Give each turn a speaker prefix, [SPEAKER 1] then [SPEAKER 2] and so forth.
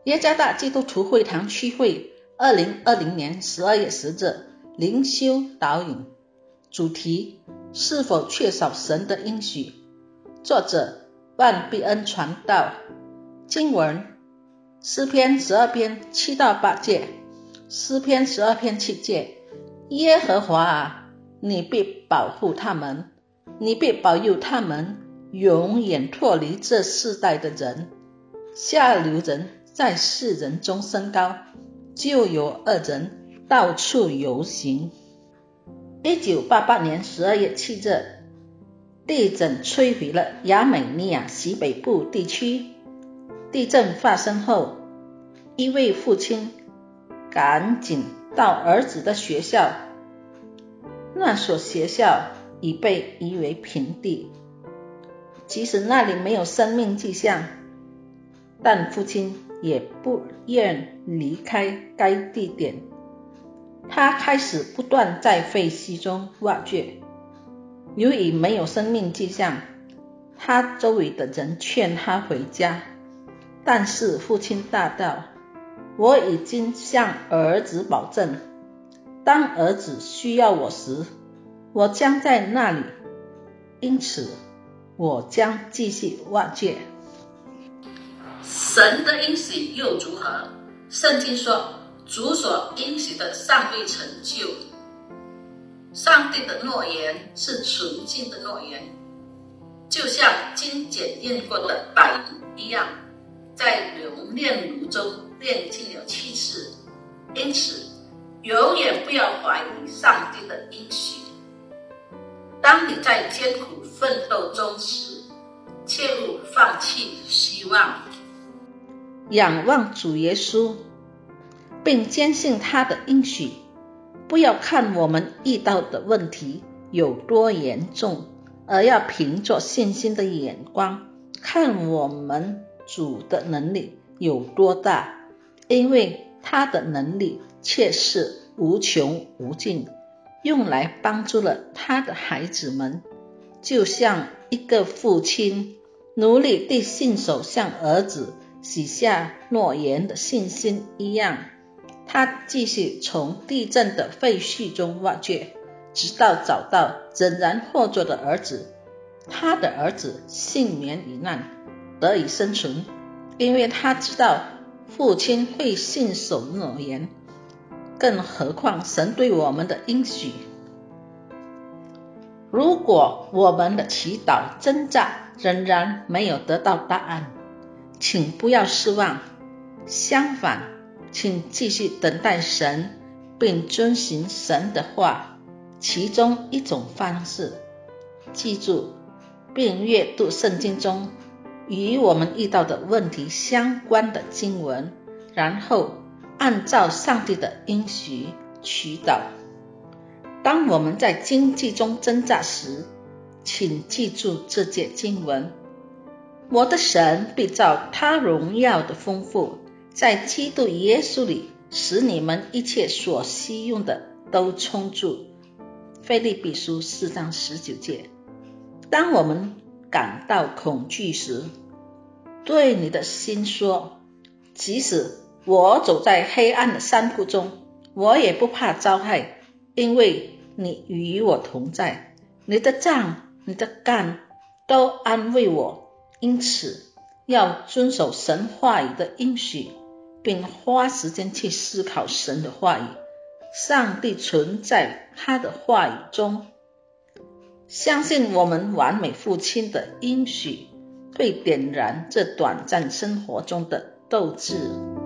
[SPEAKER 1] 耶加大基督徒会堂区会2020年12月10日灵修导引，主题：是否缺少神的应许？作者：万必恩传道。经文：诗篇12篇7到8节。诗篇12篇7节：耶和华啊，你必保护他们，你必保佑他们，永远脱离这世代的人。下流人在世人中升高，就有恶人到处游行。1988年12月7日，地震摧毁了亚美尼亚西北部地区。地震发生后，一位父亲赶紧到儿子的学校，那所学校已被夷为平地。即使那里没有生命迹象，但父亲也不愿离开该地点。他开始不断在废墟中挖掘。由于没有生命迹象，他周围的人劝他回家，但是父亲大道：我已经向儿子保证，当儿子需要我时，我将在那里，因此我将继续挖掘。
[SPEAKER 2] 神的应许又如何？圣经说，主所应许的尚未成就。上帝的诺言是纯净的诺言，就像经检验过的白银一样，在熔炼炉中炼净了7次。因此永远不要怀疑上帝的应许。当你在艰苦奋斗中时，切勿放弃希望。
[SPEAKER 1] 仰望主耶稣，并坚信他的应许。不要看我们遇到的问题有多严重，而要凭着信心的眼光看我们主的能力有多大，因为他的能力却是无穷无尽，用来帮助了他的孩子们。就像一个父亲努力地信守向儿子许下诺言的信心一样，他继续从地震的废墟中挖掘，直到找到仍然活着的儿子。他的儿子幸免于难，得以生存，因为他知道父亲会信守诺言。更何况神对我们的应许。如果我们的祈祷挣扎仍然没有得到答案，请不要失望，相反，请继续等待神，并遵循神的话。其中一种方式，记住并阅读圣经中与我们遇到的问题相关的经文，然后按照上帝的应许祈祷。当我们在经济中挣扎时，请记住这节经文：我的神必照他荣耀的丰富，在基督耶稣里，使你们一切所需用的都充足。腓立比书4章19节。当我们感到恐惧时，对你的心说：即使我走在黑暗的山谷中，我也不怕遭害，因为你与我同在，你的杖你的竿都安慰我。因此要遵守神话语的应许，并花时间去思考神的话语。上帝存在他的话语中，相信我们完美父亲的应许会点燃这短暂生活中的斗志。